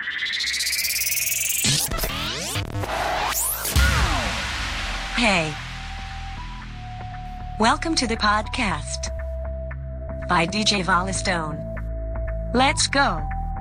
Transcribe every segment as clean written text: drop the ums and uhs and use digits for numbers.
Hey. Welcome to the podcast by DJ Valistone. Let's go.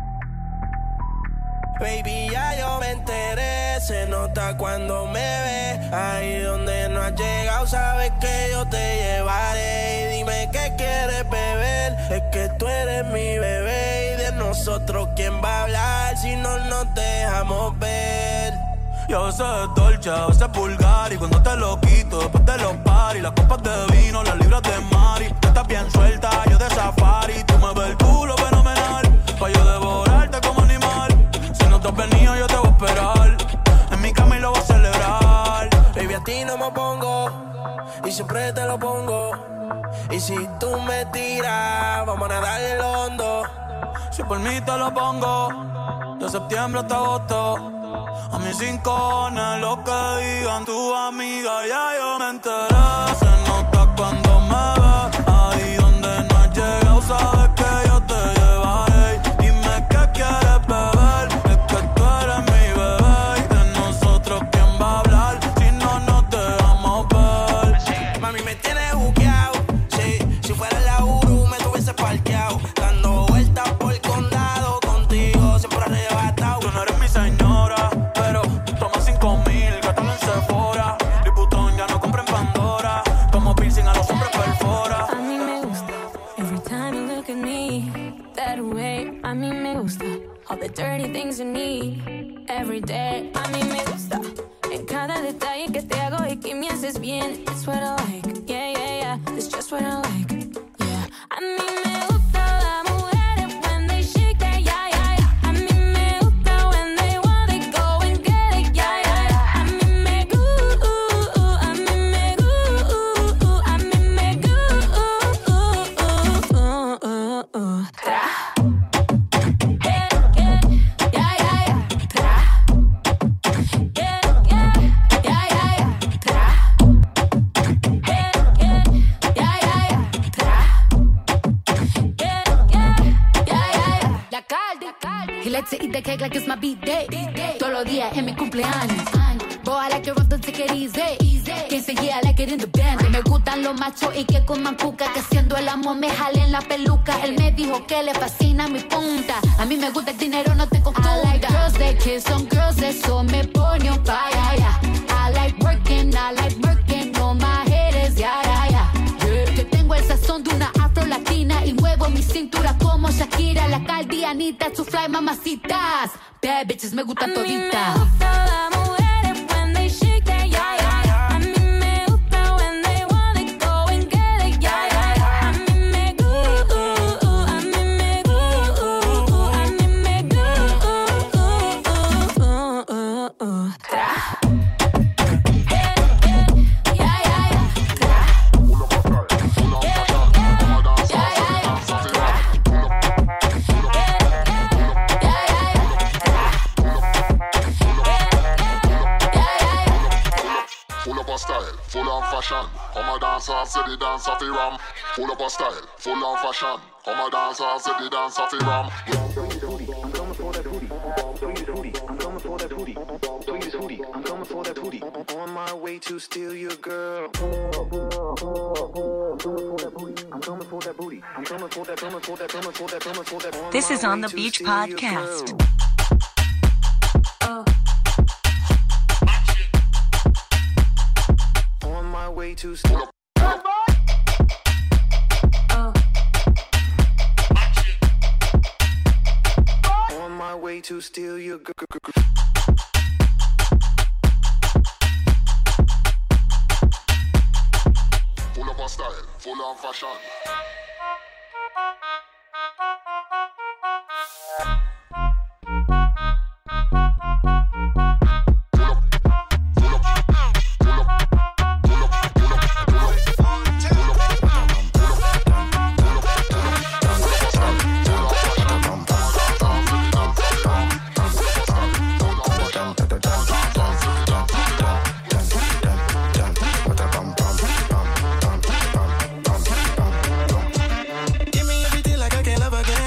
Baby, ya yo me enteré, se nota cuando me ves. Ahí donde no has llegado, sabes que yo te llevaré. Y dime qué quieres beber, es que tú eres mi bebé. Y de nosotros, ¿quién va a hablar si no nos dejamos ver? Y a veces es dolce, a veces es vulgar. Y cuando te lo quito, después de los paris, las copas de vino, las libras de mari. Tú estás bien suelta, yo de safari. Tú me ves el culo fenomenal, pa' yo devorarte como animal. Si no te has venido, yo te voy a esperar. En mi cama y lo voy a celebrar. Baby, a ti no me pongo, y siempre te lo pongo. Y si tú me tiras, vamos a nadar el hondo. Si por mí te lo pongo, de septiembre hasta agosto. A mis rincones, lo que digan tu amiga, ya yo me enteré. Se nota cuando me ves, ahí donde no has llegado, sabes que yo te llevaré. Dime qué quieres beber, es que tú eres mi bebé. Y de nosotros, ¿quién va a hablar si no nos dejamos ver? Mami, me tienes buqueado, sí. Si fuera la Uru, me tuviese parqueado. Dando vueltas por el condado, contigo siempre arrebatado. Tú no eres mi señora, toma 5,000, gástalo en Sephora. Liputón ya no compra en Pandora. Como piercing a los hombres perfora. A mí me gusta, every time you look at me that way. A mí me gusta, all the dirty things you need every day. A mí me gusta, en cada detalle que te hago y que me haces bien. It's what I like, yeah, yeah, yeah. It's just what I like, yeah. A mí me gusta la mujeres when they shake that, yeah, yeah, yeah. A mí me gusta when they want it, go and get it, yeah, yeah, yeah. A mí me gusta, a mí me gusta, a mí me gusta, tra. Yeah, yeah, yeah, yeah, yeah, tra. Yeah, yeah, yeah, yeah, yeah, tra. Yeah, yeah, yeah, yeah, yeah, tra. Yeah, yeah, yeah, yeah, yeah. La Caldi. He likes to eat the cake like it's my B-day. Todos los días en mi cumpleaños. Boy, I like it rough, don't take it easy. Can't say yeah, I like it in the band. Me gustan los machos y que coman cuca. Que haciendo el amor me jalen la peluca. Él me dijo que le fascina mi punta. A mí me gusta el dinero, no te confunda. I like girls that kiss on girls, eso me pone on fire, yeah. I like working on my haters, yeah, yeah, yeah. Yo tengo el sazón de una afro latina y muevo mi cintura como Shakira, la Caldi, Anita, su fly, mamacitas. Bad bitches me gustan toditas. A mí me gusta la mujeres when they shake that, yeah, yeah, yeah. A mí me gusta when they want it, go and get it, yeah, yeah, yeah. A mí me gusta, a mí me gusta, a mí me gusta, tra. Yeah, yeah, yeah, yeah, yeah, tra. Yeah, yeah, yeah, yeah, yeah, tra. Full up a style, full on fashion. Come a dance off, say the dance off the ram. Full up a style, full on fashion. Come a dance off, say the dance off the ram. On my way to steal your girl. This is On the Beach podcast. On my way to steal. On my way to steal your girl. Full up a style, full on fashion. Give me everything like I can't love again.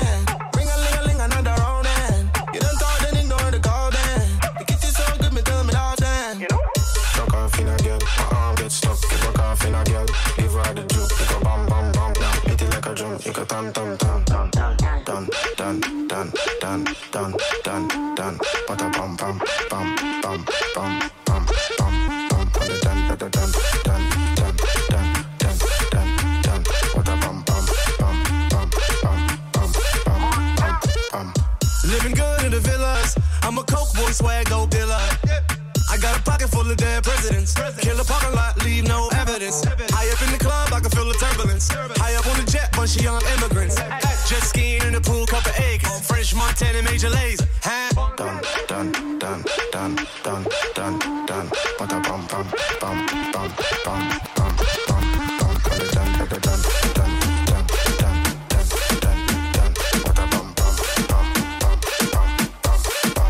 done, bada bum bum bum bum bum bum bum bum, done, bada done, bada bum bum bum bum bum bum bum. Living good in the villas, I'm a coke boy, swag go dealer. I got a pocket full of dead presidents. Kill a parking lot, leave no evidence. High up in the club, I can feel the turbulence. High up on the jet, bunch of young immigrants. Just skiing in the pool, couple acres. French Montana, Major Lazer. Done. Bada bum bum bum bum bum bum bum bum. Done. Bada bum bum bum bum bum bum bum.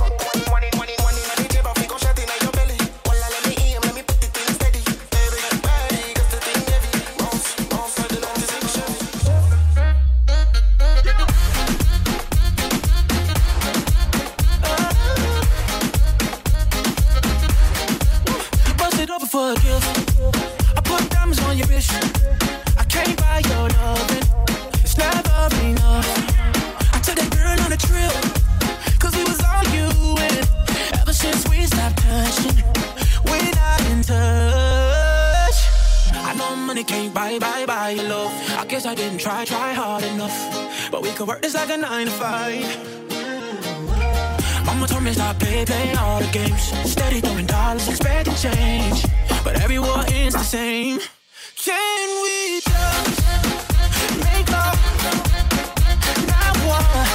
For a gift, I put diamonds on your wrist. I can't buy your loving, it's never enough. I took that girl on a trip, cause we was arguing. Ever since we stopped touching, we're not in touch. I know money can't buy your love. I guess I didn't try hard enough. But we could work this like a 9 to 5. Mama told me stop play all the games. Steady throwing dollars, expecting change. But every war ends the same. Can we just make love, not war?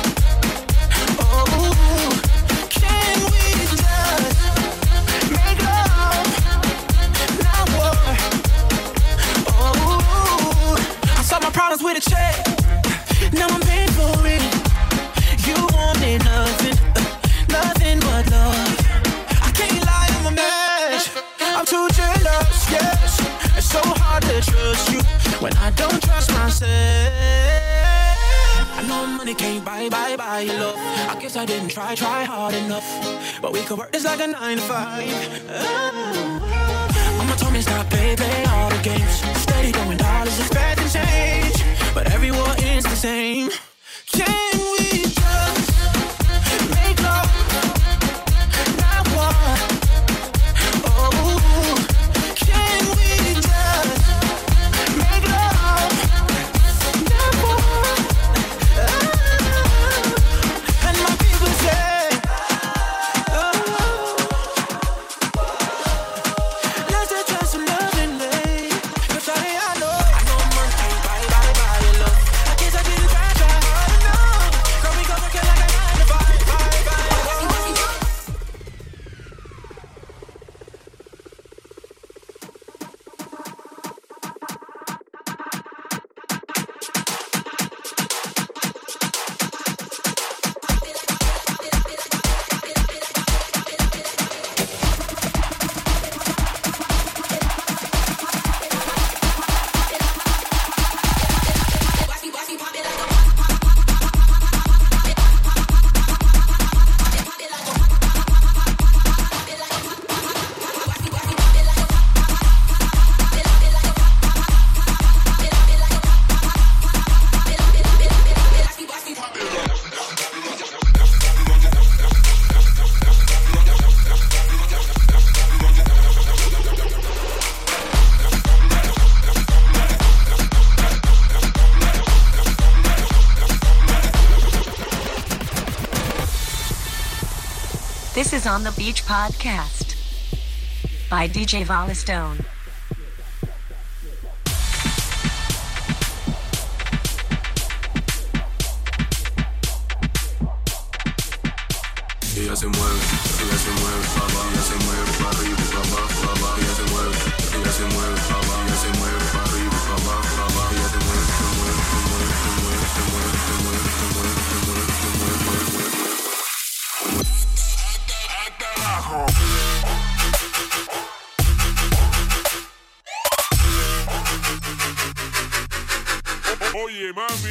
Oh, can we just make love, not war? Oh, I solved my problems with a check. Now I'm paying for it. You wanted nothing but love. I can't lie, I'm a mess. I'm too jealous, yes. It's so hard to trust you when I don't trust myself. I know money can't buy your love. I guess I didn't try hard enough. But we could work this like a 9 to 5. Mama told me stop play all the games. Steady throwing dollars, expecting change. But every war ends the same. Can we just make love? This is On the Beach Podcast by DJ Volistone. Ella se mueve, papá, ella se mueve, para arriba y para abajo, papá, ella se mueve, papá, ella se mueve, para arriba y para abajo, papá, ella se mueve. Oye, mami.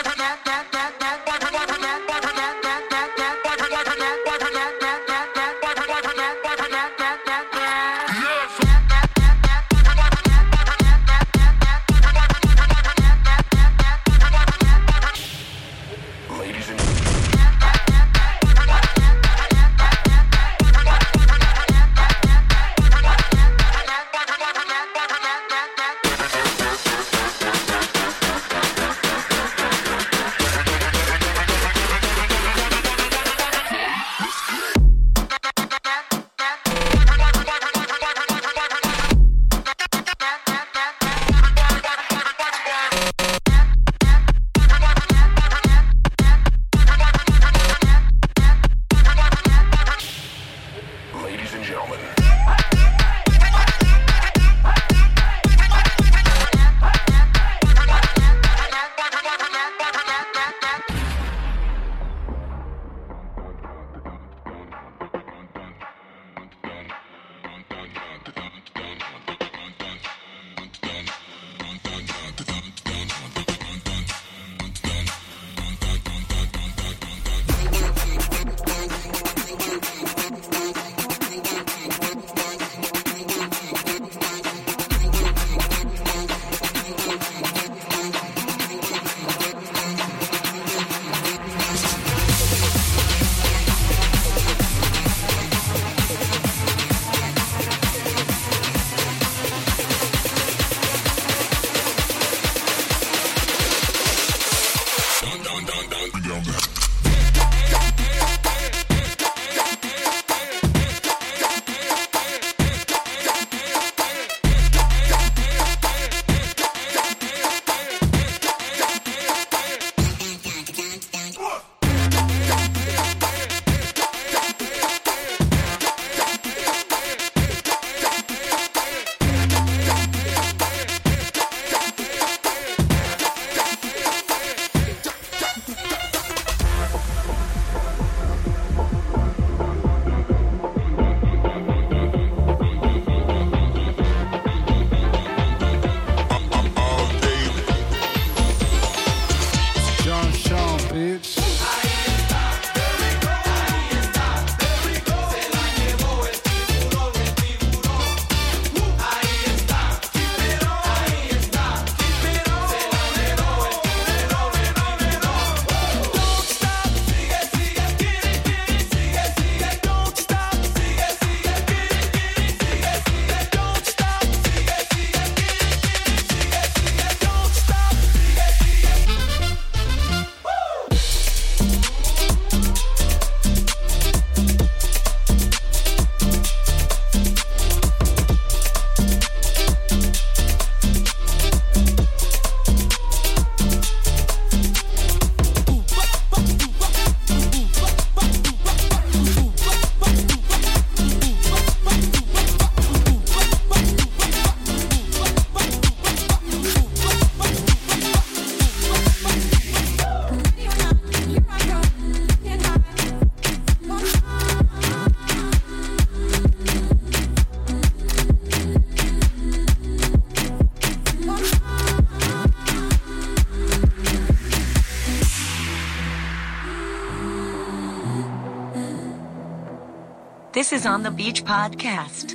This is On the Beach Podcast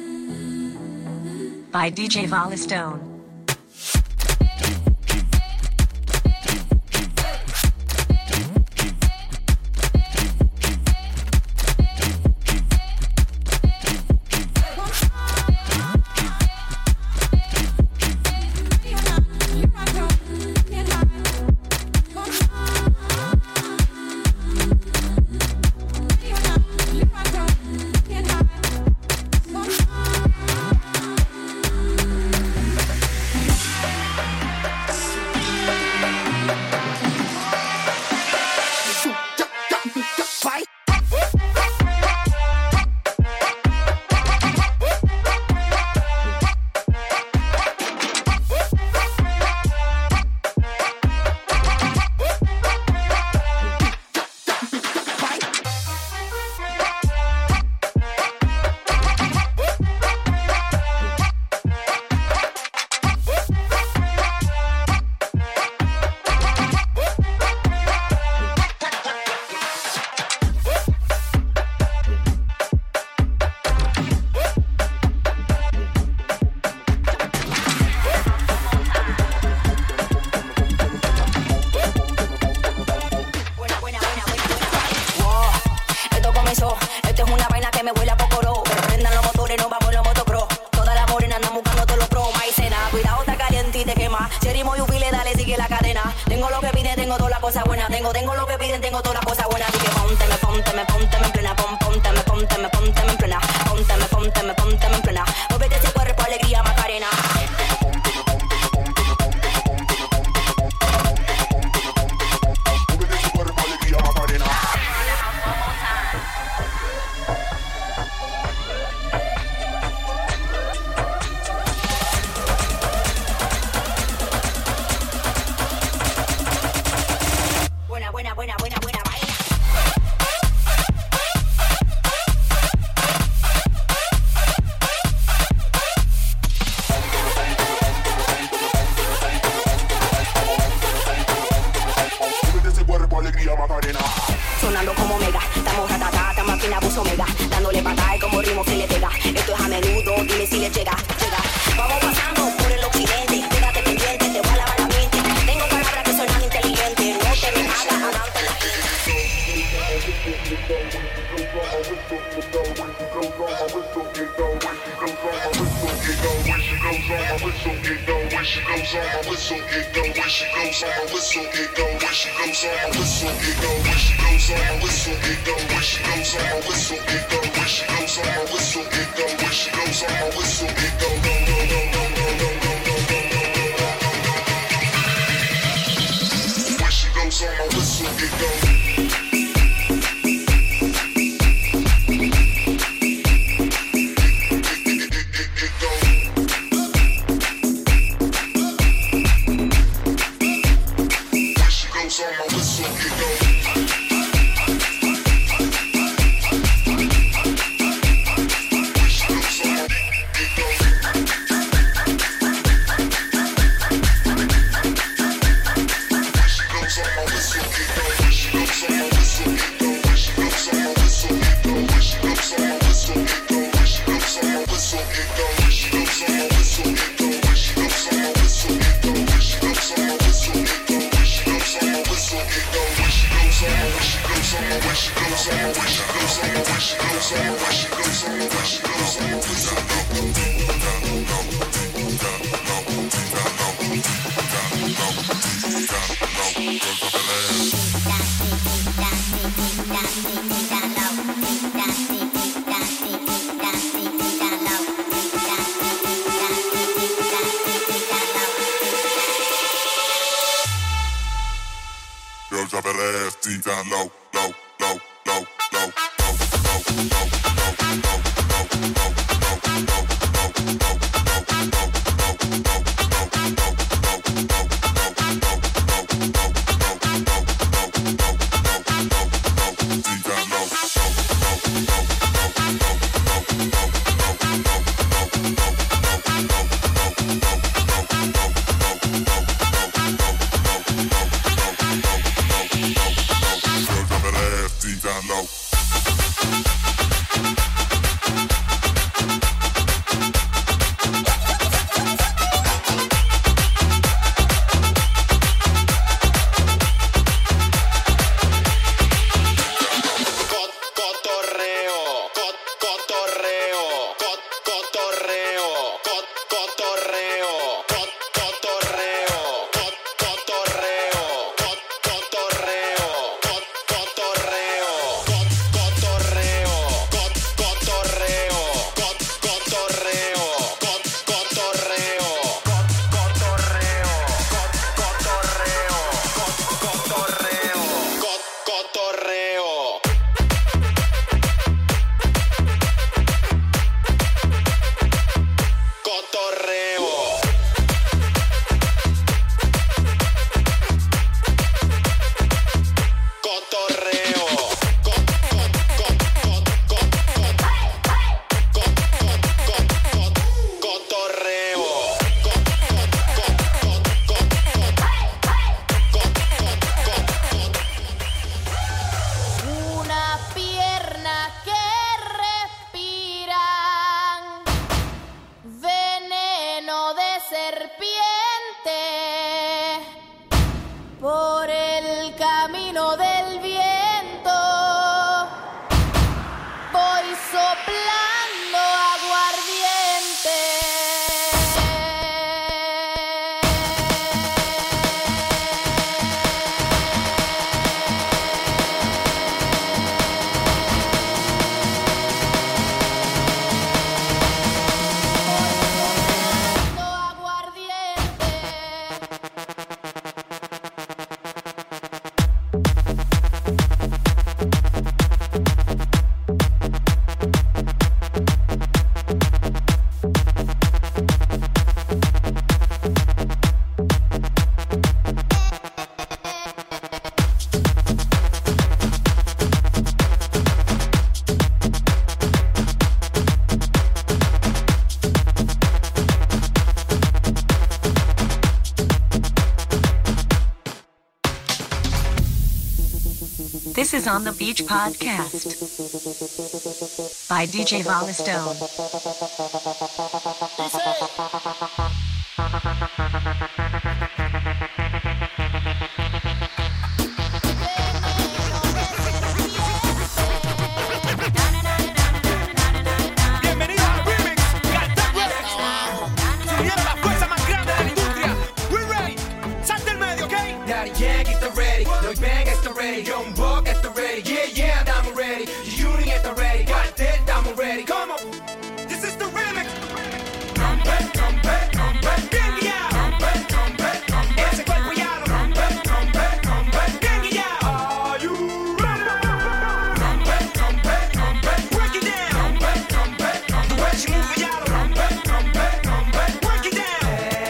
by DJ Volistone. tengo toda la cosa buena. Tengo lo que piden, tengo toda la cosa buena. Así que pónteme en plena. Pónteme en plena. Pónteme en plena. Móvete ese cuerpo, alegría, Macarena. Sonando como mega, estamos ratatá, estamos aquí en abuso mega, dándole patada y como ritmo se le pega. Esto es a menudo, dime si le llega. Vamos pasando por el occidente, quédate pendiente, te voy a lavar la mente. Tengo palabras que suenan inteligentes, no te me hagas adelante la Drop that ass deep down low. This is On the Beach Podcast by DJ Volistone. Young Buck at the ready, yeah, I'm ready. Uni at the ready, got that, I'm ready. Come on, this is the remix. Come back, come back, come back, bring it out. Come back, come back, come back. Ese cuerpo ya lo. Come back, come back, come back, bring it out. Are you ready? Come back, come back, come back, break it down. Come back, come back, come back. The way she move it, ya lo. Come back, come back, come back, break it down.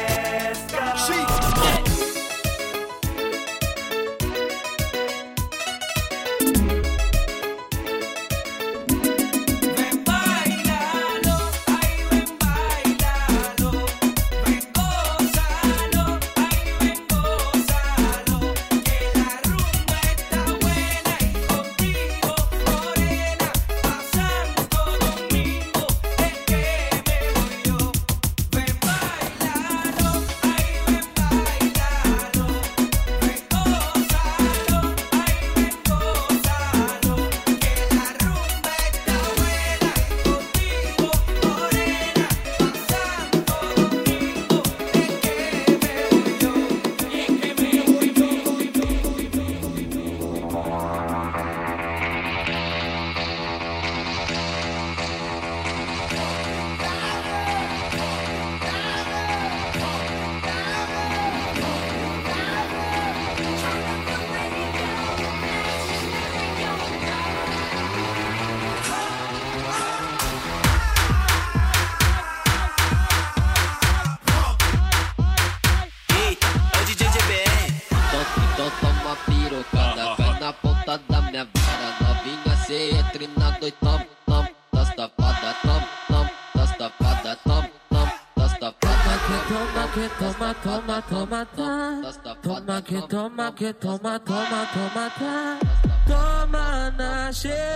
Toma na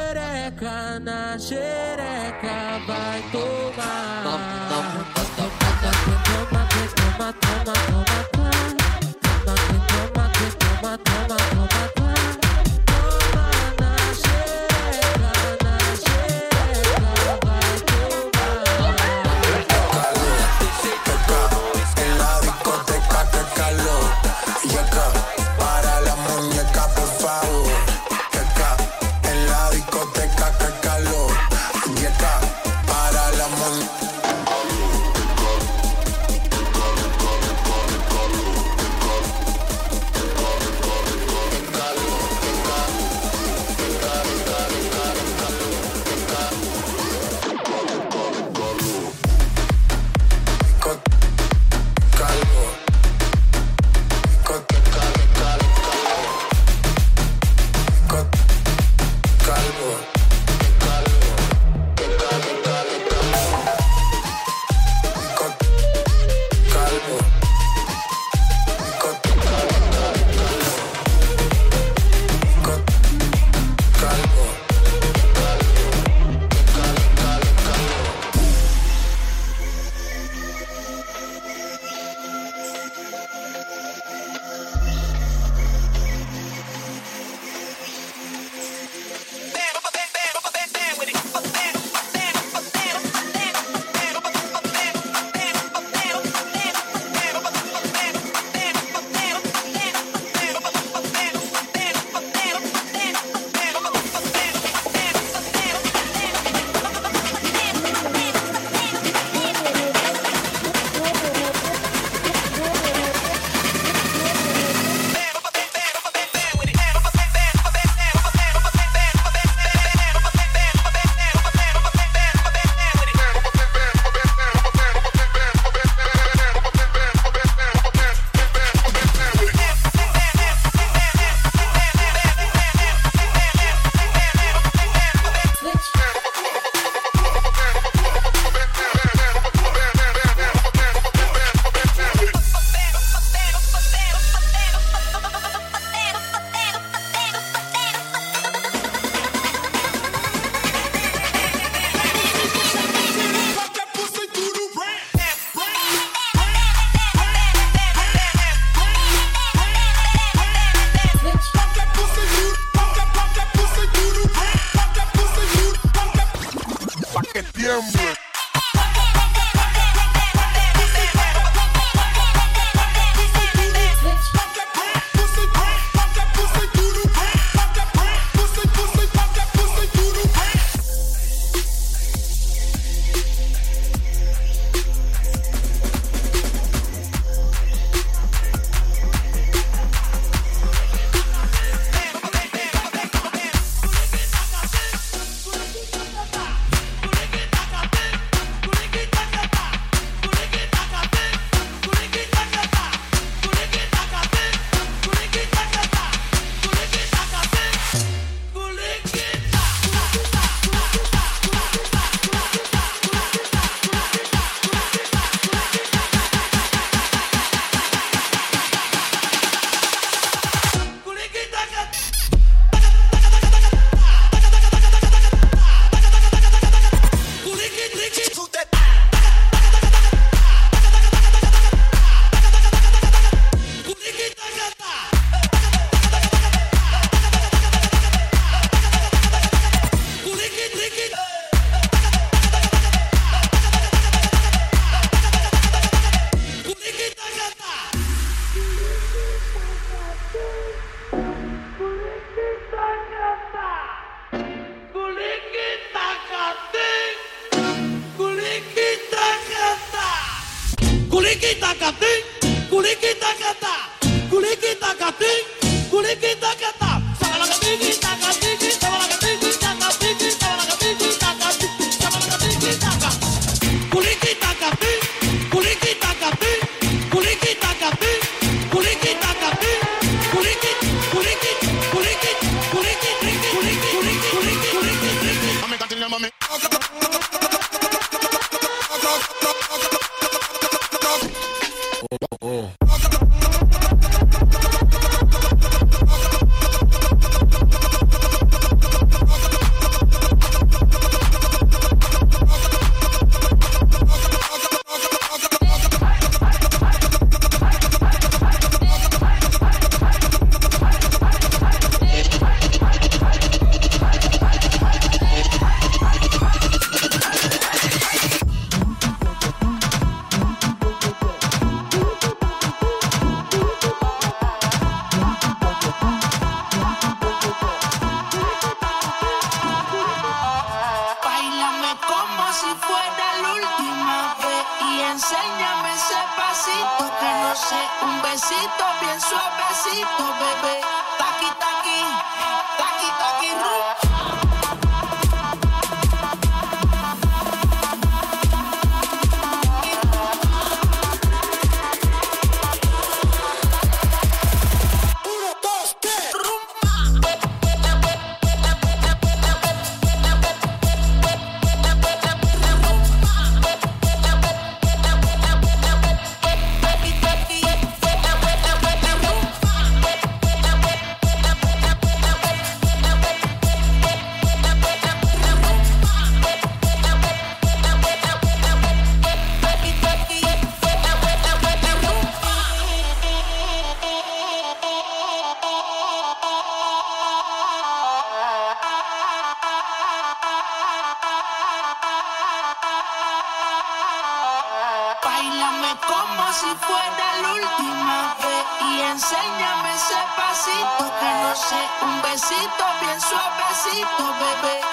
xereca, vai tomar. besito bien suavecito, bebé. Taqui, taqui, taqui, taqui, Báilame como si fuera la última vez y enséñame ese pasito que no sé, un besito bien suavecito, bebé.